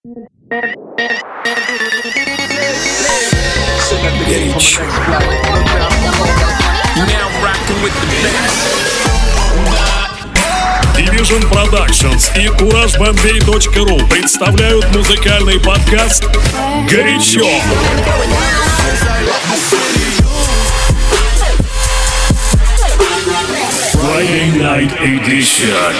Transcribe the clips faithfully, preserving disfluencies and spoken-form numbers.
Горячо. Division Productions и кураж бомбей точка ру представляют музыкальный подкаст «Горячо». Friday Night Edition.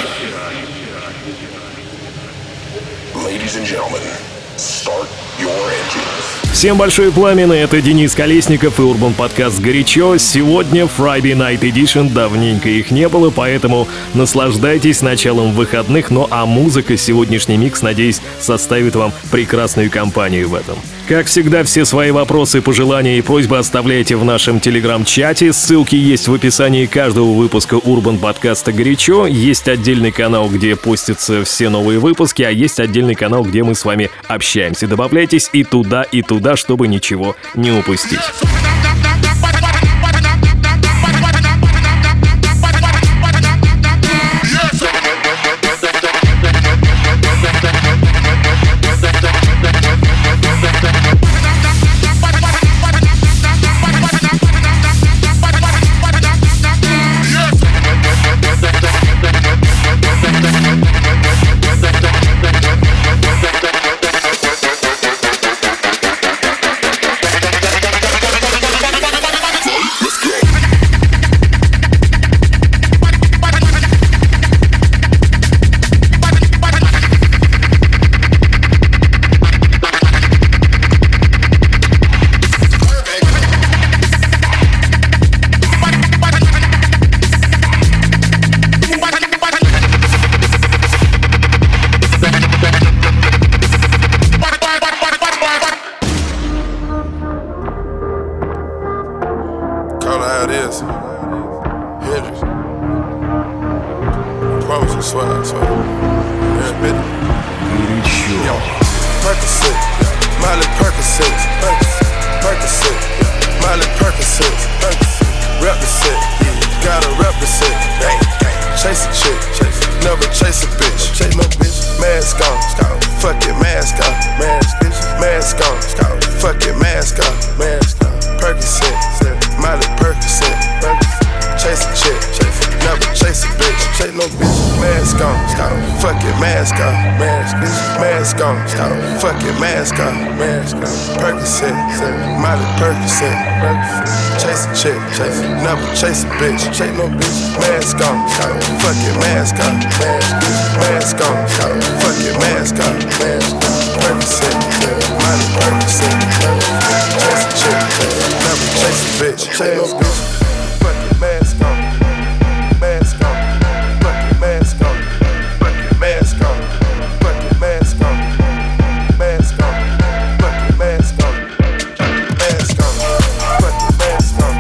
Ladies and gentlemen, start your engines. Всем большое пламя, это Денис Колесников и Урбан подкаст «Горячо». Сегодня Friday Night Edition, давненько их не было, поэтому наслаждайтесь началом выходных. Ну а музыка, сегодняшний микс, надеюсь, составит вам прекрасную компанию в этом. Как всегда, все свои вопросы, пожелания и просьбы оставляйте в нашем телеграм-чате. Ссылки есть в описании каждого выпуска Урбан подкаста «Горячо». Есть отдельный канал, где постятся все новые выпуски, а есть отдельный канал, где мы с вами общаемся. Добавляйтесь и туда, и туда, чтобы ничего не упустить. Chase a bitch, chase no bitch, mask on, fuck it, mask on, mask on, fuck it, mask on, Percocet, Miley Percocet, chase a chick, never chase a bitch, chase no bitch, fuck it, mask on, mask on, fuck it, mask on, fuck it, mask on, fuck it, mask on, mask on, fuck it, mask on, mask on, fuck it, mask on.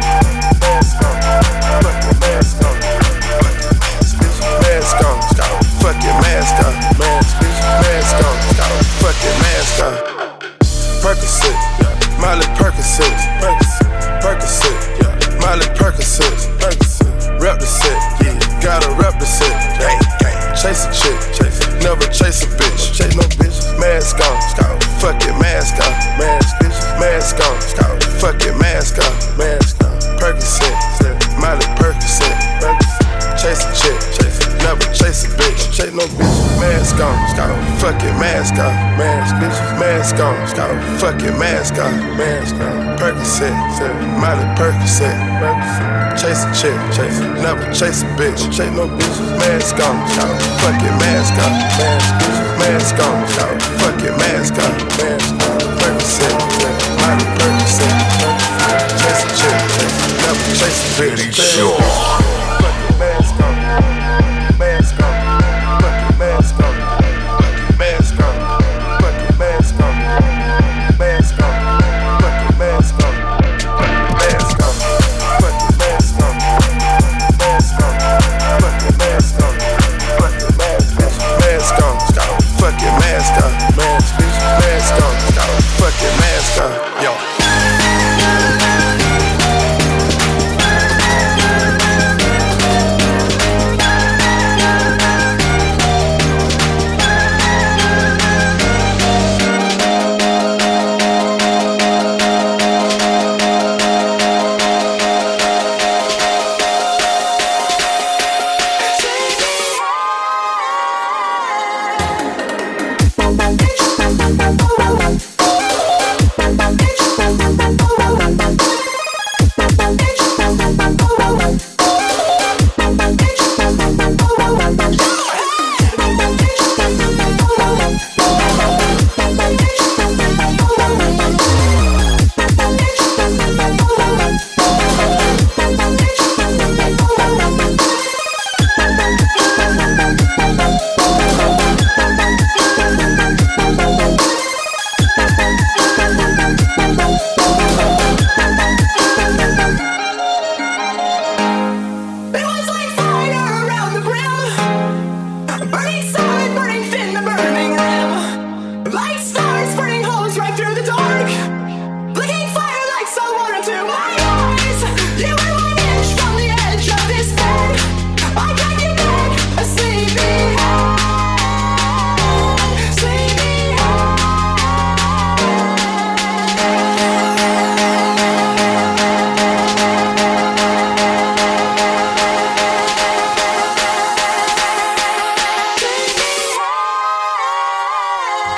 Percocet, Miley Percocet, Percocet, Miley Percocet, rep the set, yeah, gotta rep the set. Chase a chick, never chase a bitch. Chase no bitch, mask on, fuck it, mask on, mask on, fuck it, mask on, Percocet, Miley Percocet, chase a chick, never chase a bitch. Chase no bitch, mask on, fuck it, mask on, mask on, fuck it, mask on, Percocet, Miley Percocet, chase a chick, never chase a bitch. Chase no bitch, mask on, fuck it, mask on, mask on, fuck it, mask on, Percocet, Miley Percocet, chase a chick, never chase a bitch. Yo.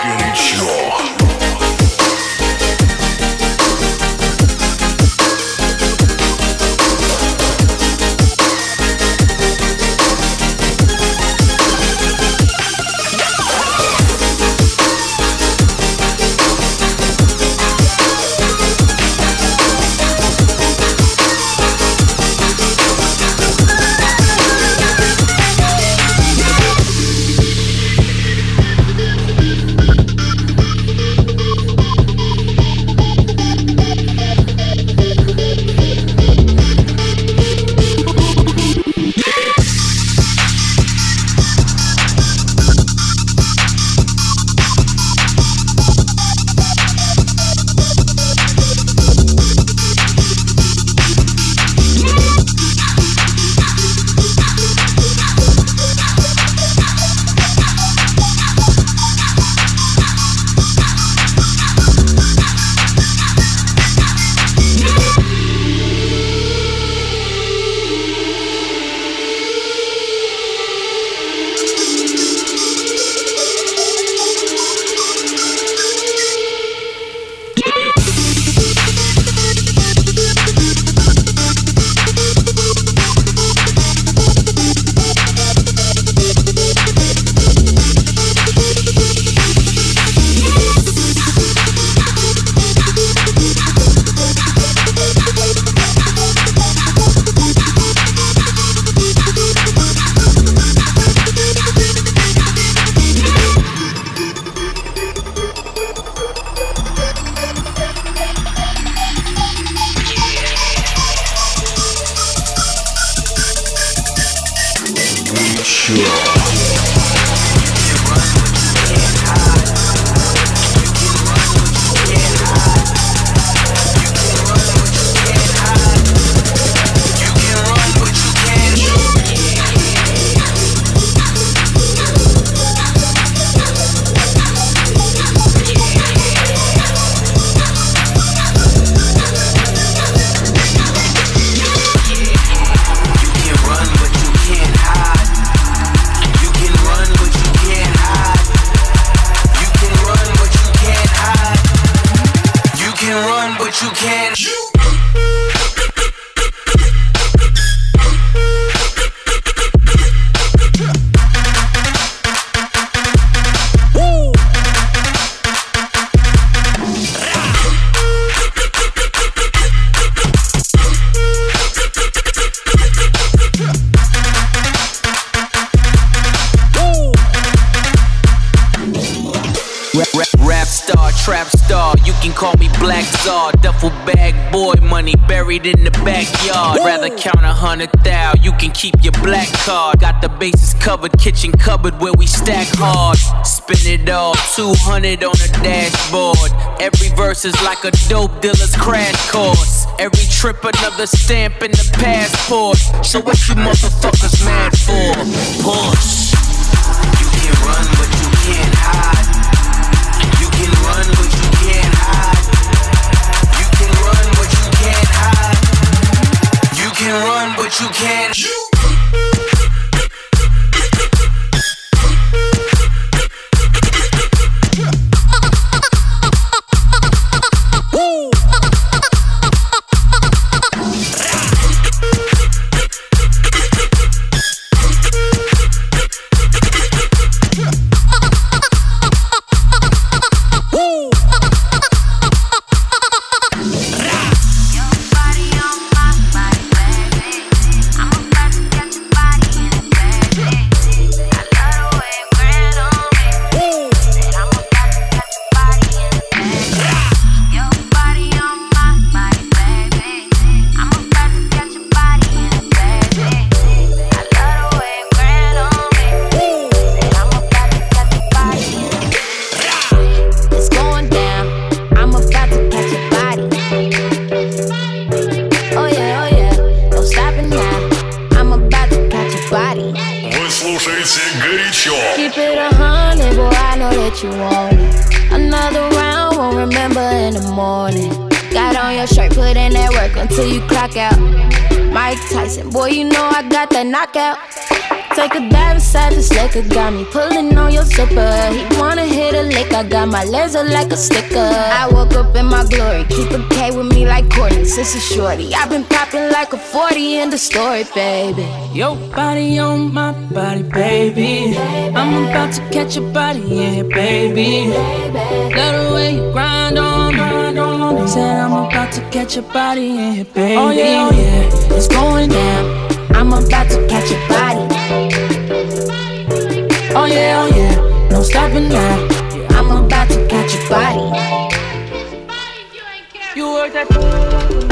Горячо. In the backyard, rather count a hundred thou. You can keep your black card. Got the bases covered, kitchen cupboard where we stack hard. Spin it all, two hundred on the dashboard. Every verse is like a dope dealer's crash course. Every trip another stamp in the passport. So what you motherfuckers mad for? Push. You can run, but you can't hide. You can run, but you can't hide. You can run, but you can't hide. You can run, but you can't. You Keep it a hundred, boy, I know that you want it. Another round, won't remember in the morning. Got on your shirt, put in that work until you clock out. Mike Tyson, boy, you know I got that knockout. Take a dive inside this liquor, got me pulling on your zipper. He wanna hit a lick, I got my laser like a sticker. I woke up in my glory, keep a K with me like Courtney, sister shorty. I've been popping like a forty in the story, baby. Your body on my body, baby. I'm about to catch a body, yeah, baby. Love the way you grind on me. Said I'm about to catch a body, yeah, baby. Oh yeah, oh yeah, it's going down. I'm about to catch a body. Oh yeah, oh yeah, no stopping now. I'm about to catch a body. You work that.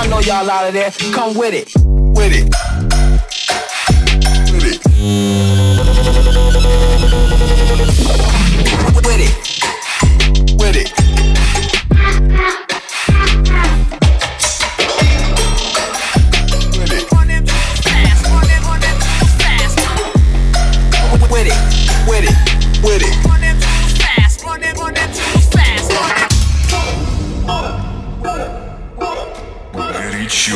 Y'all know y'all out of there. Come with it. With it. With it. With it. With it. With it, with it, with it. Run them too fast, run them, run them too fast. Горячо.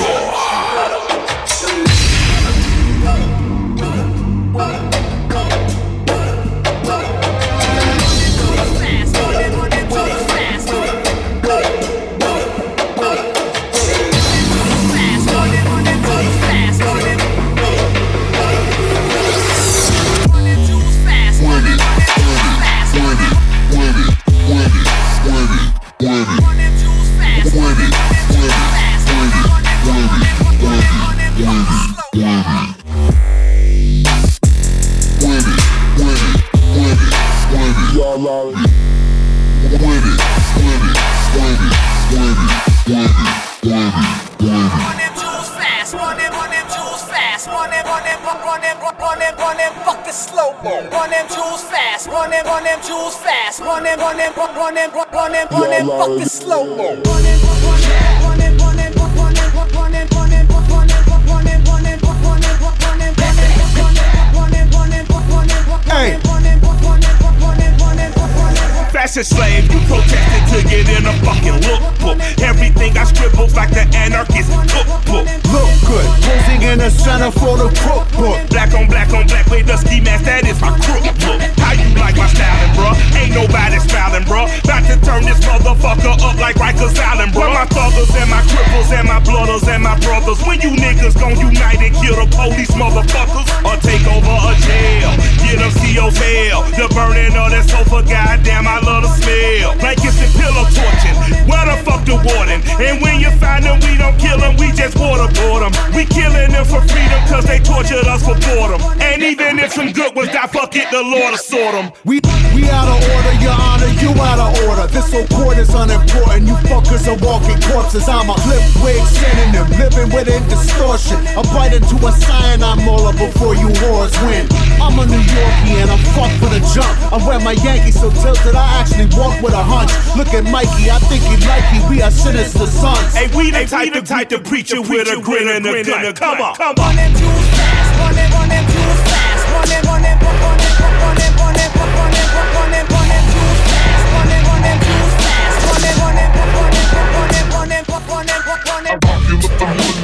Fashion slave, you protested to get in a fucking lookbook. Everything I scribbled like the anarchist cookbook. Look good, posing in the center for the cookbook. Black on black on black with the ski mask, that is my crook look. How you like my styling, bruh? Ain't nobody smiling, bruh. About to turn this motherfucker up like Rikers Island, bruh. My thuggers and my cripples and my blooders and my brothers. When you niggas gon' unite and kill the police motherfuckers, or take over a jail, get them C O's hell. The burning of that sofa, goddamn, I love the smell. Blankets and pillow torching, where the fuck the warden? And when you find them, we don't kill them, we just waterboard them. We killing them for freedom, cause they tortured us for boredom. And even if some good ones die, fuck it, the Lord will sort them. We, we out of order, your honor, you out of order. This whole court is unimportant, you fuckers are walking corpses. I'm a flip wig synonym, living within distortion. I bite into a cyanide molar before you whores win. I'm a New Yorkie and I'm fucked for the jump. I wear my Yankees so tilted I actually walk with a hunch. Look at Mikey, I think he like you, we are sinister sons. Hey, we the type to type to preach you with a grin and a gun. Come on, come on. Run them too fast, run them, run them too fast. Run them, run them, run them, run them, run them, run them, run them, run them too fast. Run them, run them too fast. Run them, run them, run them, run them, run them, run them, run them. You look the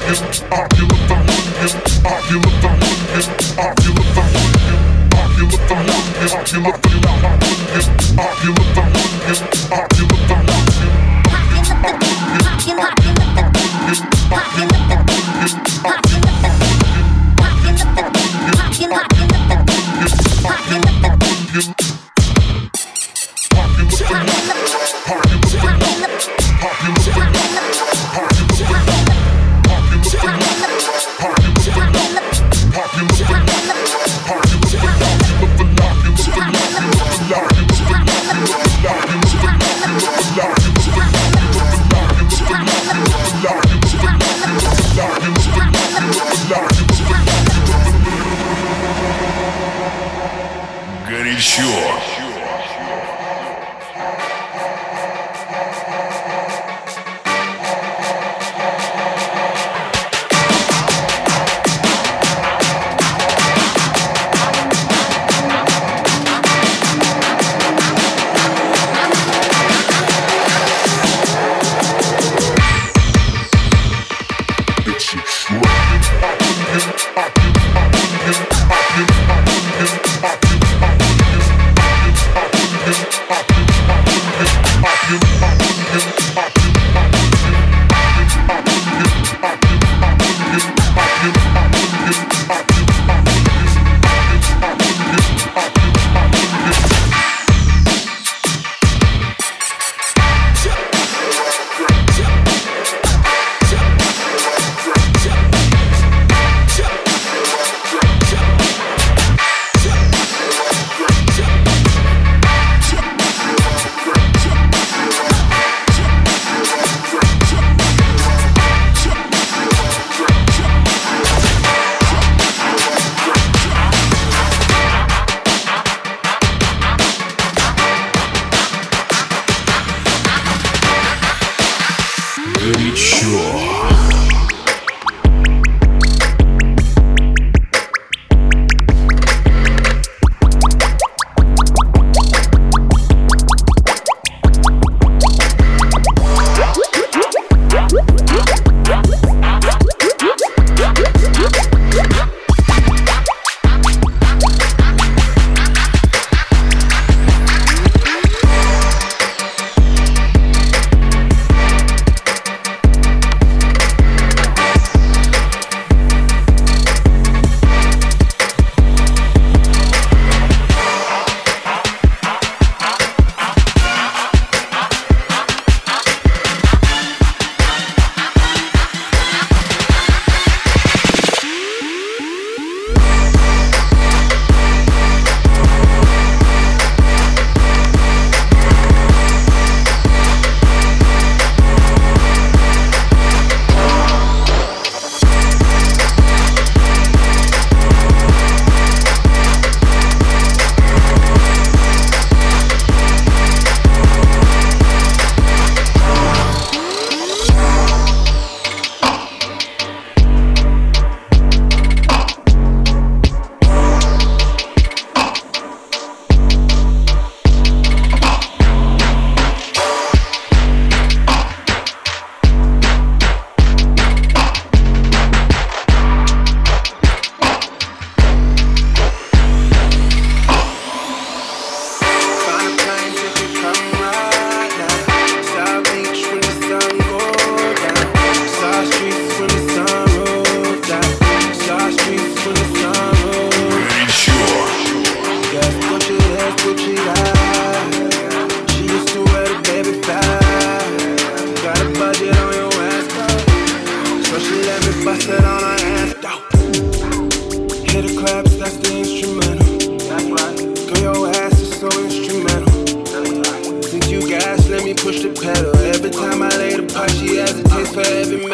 hood, you look the hood, you look the hood, you look the hood. You look the hood, you look the hood, you look the hood, you look the hood. Горячо.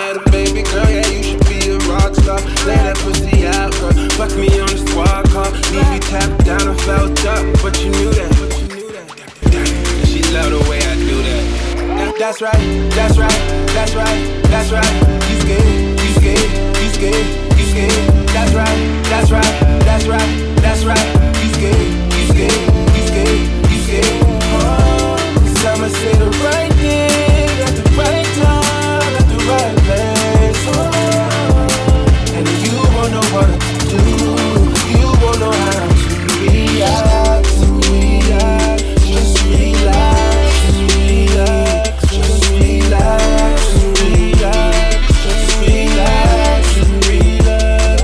had a baby girl, yeah, you should be a rock star. Lay that pussy out, girl. Fuck me on the squad car. Leave you tapped down and felt up, but you knew that. She love the way I do that. That's right, that's right, that's right, that's right. You scared, you scared, you scared, you scared. That's right, that's right, that's right, that's right. You scared, you scared, you scared, you scared. Oh, 'cause I'ma say the right thing at the right time, at the right place. Oh, and you won't know what to do. You won't know how to react, to react. Just relax, just relax, just relax, just relax, just relax, just relax.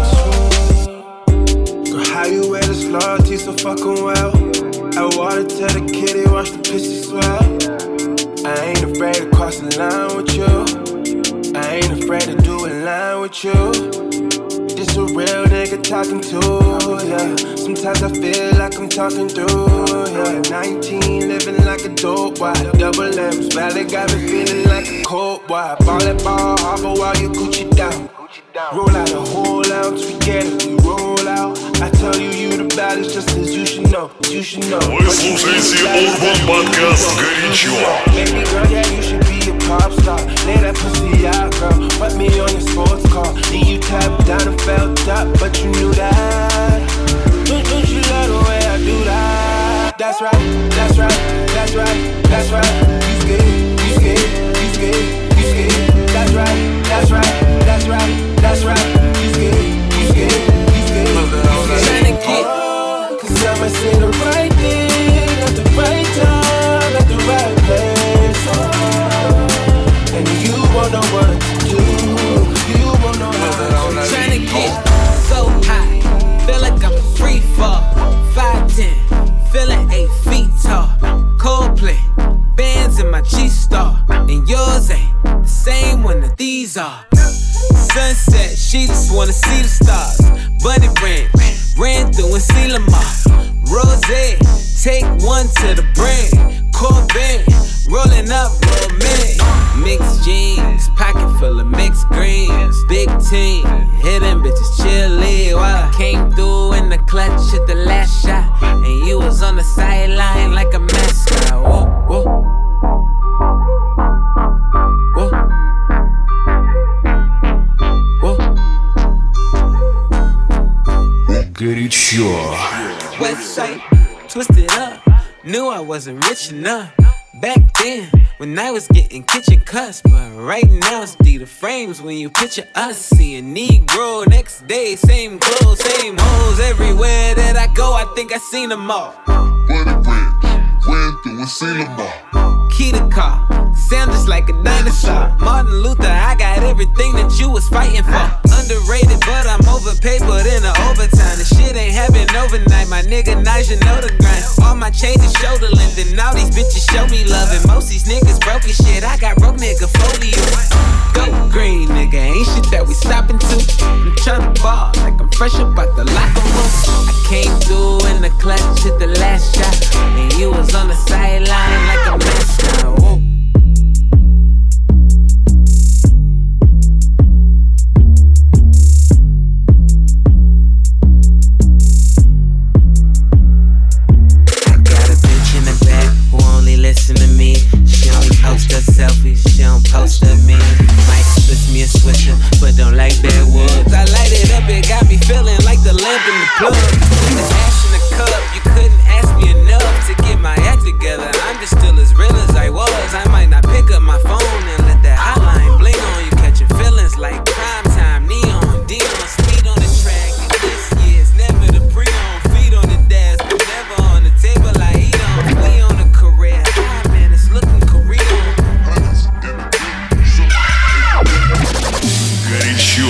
Girl, how you wear this loyalty so fucking well? I wanna tell the kitty, watch the pussy swell. I ain't afraid to cross the line with you. I ain't afraid to do a line with you. This a real nigga talking to, yeah. Sometimes I feel like I'm talking through, yeah. nineteen, living like a dope boy. Double M's, valley got me feeling like a cold boy. Ball that ball, harbor while you Gucci down. Roll out a whole ounce, we get it, we roll out. I tell you, you the baddest, just as you should know, you should know. Вы слушаете Urban Podcast горячо. Baby girl, yeah, you should be a pop star. Lay that pussy out, girl. Put me on your sports car. Leave you tapped down and felt up, but you knew that. Don't, don't you love the way I do that? That's right, that's right, that's right, that's right. You scared, you scared, you scared, you scared. That's right, that's right, that's right, that's right. You scared, you scared, you scared. Tryna get, oh, 'cause I'ma say the right thing at the right time, at the right place. Oh, and you won't know what to do. You won't know how to. Tryna get so high, feel like I'm free fall. five ten, feeling eight feet tall. Coldplay, bands in my G-Star, and yours ain't the same one that these are. Sunset, she just wanna see the stars. Bunny Ranch, ran through and see Lamar. Rosé, take one to the brain. Corbin, rolling up romance. Mixed jeans, pocket full of mixed greens. Big team, hitting bitches chilly while I came through in the clutch at the last shot, and you was on the sideline like a mascot. Whoa, whoa, whoa, whoa. Горячо. Website, twisted up. Knew I wasn't rich enough back then when I was getting kitchen cuts, but right now it's D the frames when you picture us. Seeing Negro next day, same clothes, same hoes. Everywhere that I go, I think I seen them all. Bunny Ranch, ran through and seen them all. Key to car, sound just like a dinosaur. Martin Luther, I got everything that you was fighting for. Underrated, but I'm overpaid, but in the overtime. The shit ain't happen overnight, my nigga Naja know the grind. All my chains is shoulder length, and all these bitches show me love. And most these niggas broke as shit, I got broke nigga folio. Go green, nigga, ain't shit that we stopping to. I'm tryna ball like I'm fresh up out the locker room. I came through in the clutch at the last shot, and you was on the sideline like a mascot. Whoa. Listen to me, she only post her selfies, she don't post her me. Might switch me a switcher, but don't like backwoods. I light it up, it got me feeling like the lamp in the plug. With the ash in the cup, you couldn't ask me enough to get my act together. I'm just still as real as I was. I might not pick up my phone and let that hotline bling on you, catching feelings like prime time, neon, Dion, speed on the track. And this year's never the pre-on, feet on the dash, but never on the table I eat on. We on a career. Горячо.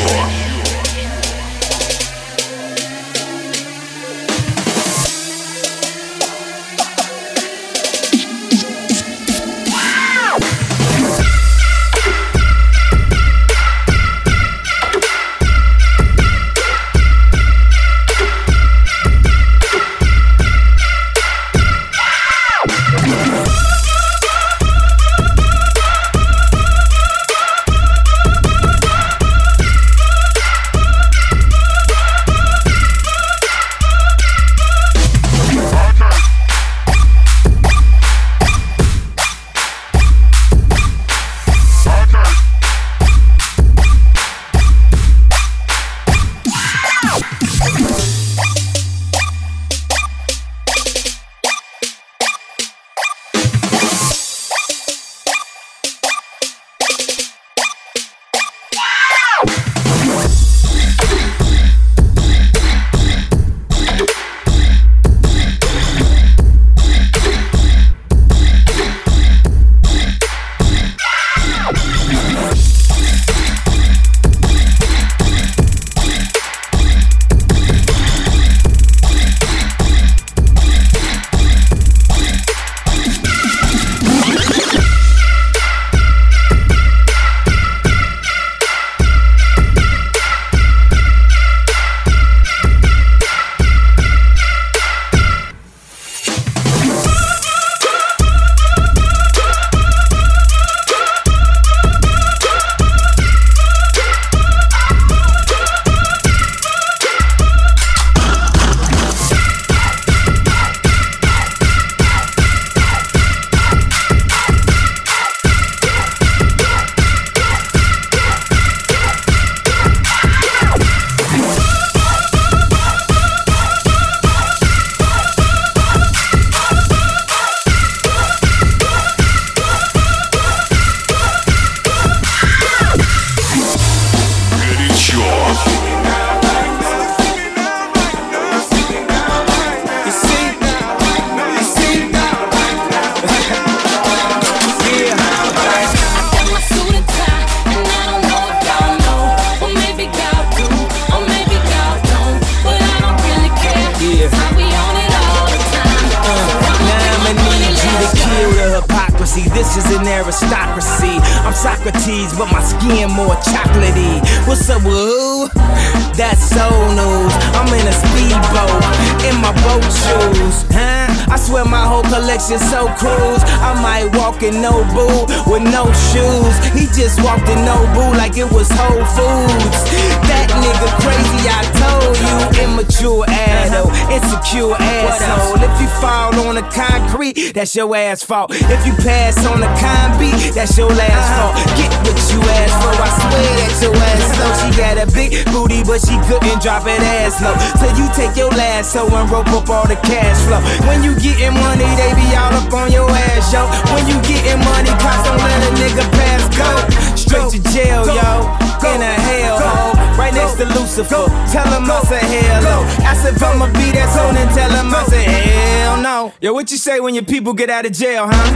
riches and aristocracy. I'm Socrates, but my skin more chocolatey. What's up with who? That's soul news. I'm in a speedboat, in my boat shoes, huh? I swear my whole collection so cruise. I might walk in Nobu with no shoes. He just walked in Nobu like it was Whole Foods. That nigga crazy, I told you. Immature adult, insecure asshole. If you fall on the concrete, that's your ass fault. If you pass on the con beat, that's your last fault. Get what you asked for, I swear that your ass slow. She got a big booty, but she couldn't drop it ass low. So you take your lasso and rope up all the cash flow. When you getting money, they be all up on your ass, yo. When you getting money, cops don't let a nigga pass go. Straight to jail, yo. In a hellhole, right next to Lucifer. Tell him I said hello. Ask if I'ma be that soon and tell him I said hell no. Yo, what you say when your people get out of jail, huh?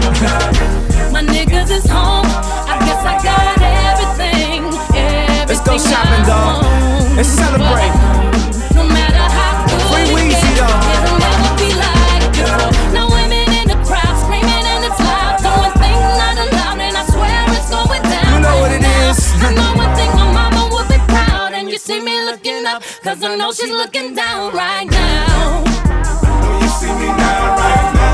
My niggas is home. I guess I got everything. everything Let's go shopping, dog. Let's celebrate. No matter how good Free Weezy, though. It'll never be like before. No women in the crowd screaming and it's loud. Doing things not allowed, and I swear it's going down. You know what it is. I know one thing, my mama would be proud. And you see me looking up, cause I know she's looking down right now. Know you see me now, right now.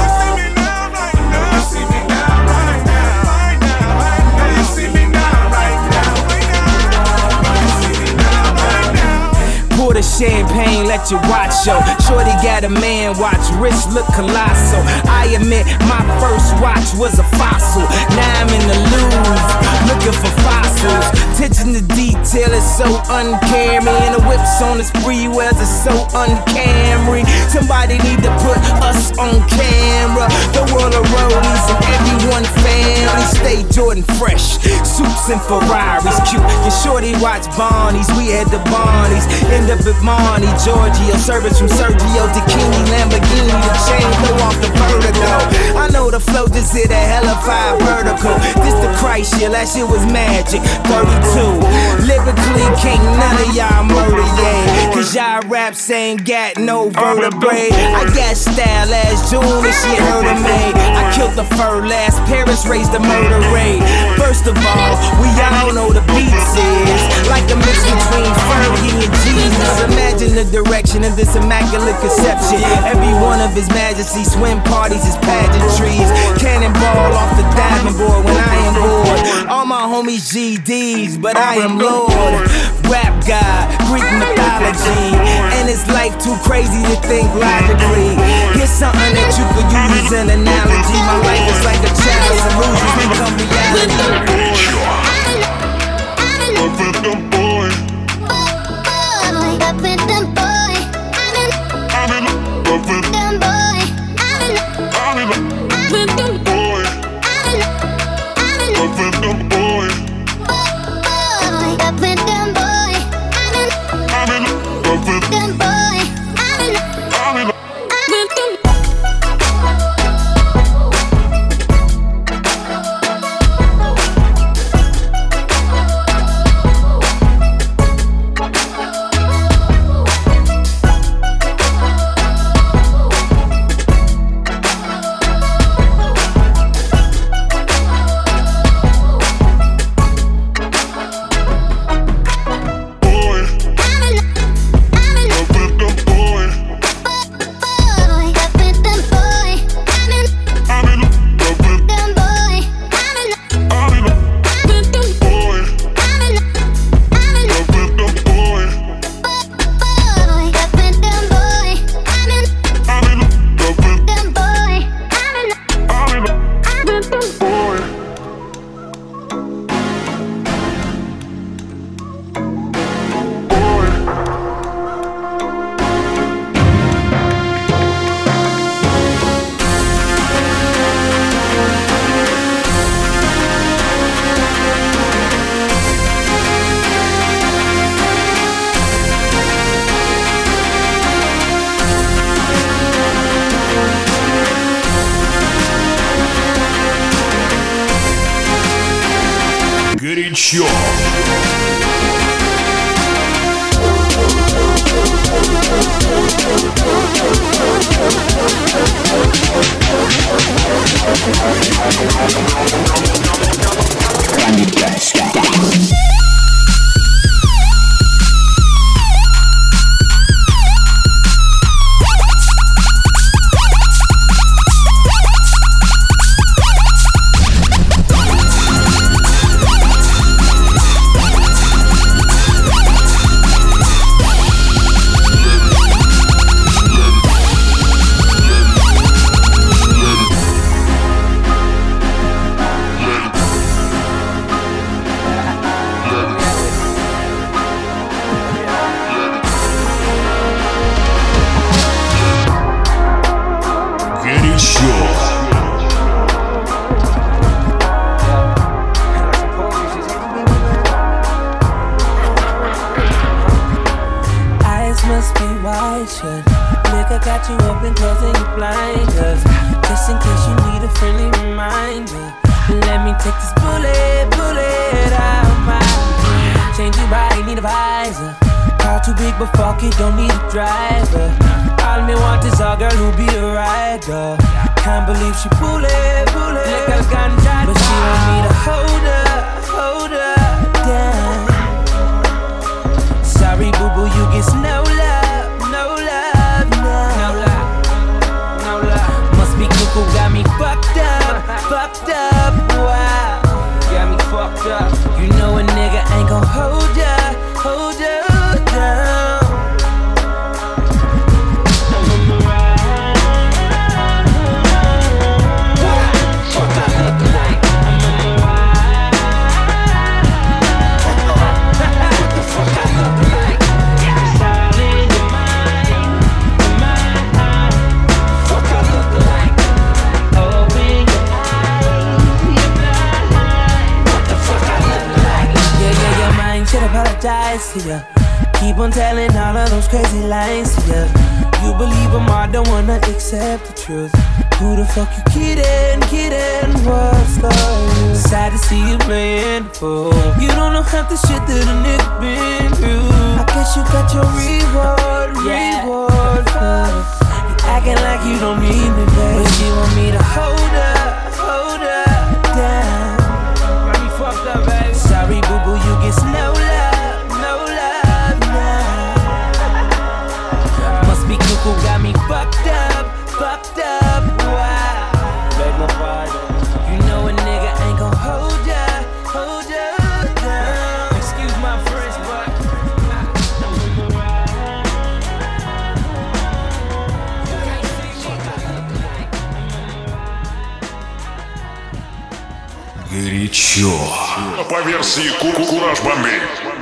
Know you see me now, right now. Know you see me now, right now. Know you see me now, right now. Pour the champagne, let your watch show. Shorty got a man watch, wrist look colossal. I admit my first watch was a fossil. Now I'm in the Louvre, looking for fossils. Attention to detail is so uncaring. And the whips on the spree wears is so uncamry. Somebody need to put us on camera. The world of rollies and everyone family. Stay Jordan fresh, suits and Ferraris cute. Your shorty watch Barney's, we had the Barneys. End up at Marnie, Giorgio. Service from Sergio Tacchini, Lamborghini. The chain throw off the vertigo. I know the flow just hit a hella five vertical. This the Christ shit, that shit was magic. thirty-two. Lyrically, can't none of y'all murder, yeah. Cause y'all raps ain't got no vertebrae. I got style as June and she heard of me. I killed the fur last, Paris raised the murder rate. First of all, we all know the beats is like a mix between Fergie and Jesus. Imagine the direction of this immaculate conception. Every one of his majesty swim parties is pageantries. Cannonball off the diving board when I am bored. All my homies G Ds, but I am Lord. Rap God, Greek mythology. And it's life too crazy to think logically. Here's something that you could use as an analogy. My life is like a child's illusions become reality. Up with them boy. Up with them boy. I'm in love with Them boy. I'm in love With them boy. Up with them boy. Up with them boy. I'm in love with Them boy. I'm in love. With them. Горячо. We'll be right back. must be wide shut. Liquor got you open, closing your blinders. Just in case you need a friendly reminder. Let me take this bullet, bullet out my way. Change your body, need a visor. Car too big, but fuck it, don't need a driver. All me want is a girl who be a rider. Can't believe she pull it, pull it. Like a ganja, but she want me to hold her, hold her down. Sorry, boo boo, you get no love, no love, no, no love, no love. Must be cuckoo, got me fucked up, fucked up. Wow, got me fucked up. You know a nigga ain't gon' hold ya, hold ya down. Apologize to ya. Keep on telling all of those crazy lies to ya. You believe them all, don't wanna accept the truth. Who the fuck you kidding, kidding? What's the use? Sad to see you playing the fool. You don't know half the shit that a nigga been through. I guess you got your reward, yeah. reward. You acting like you don't need me, babe. But she want me to hold her, hold her down. Got me fucked up, baby. Sorry, boo boo, you get no love, no love now. Must be cuckoo, got me fucked up, fucked up. Wow. You know a nigga ain't gon' hold ya, hold ya down. Excuse my French, but Горячо. По версии Кураж Бомбей.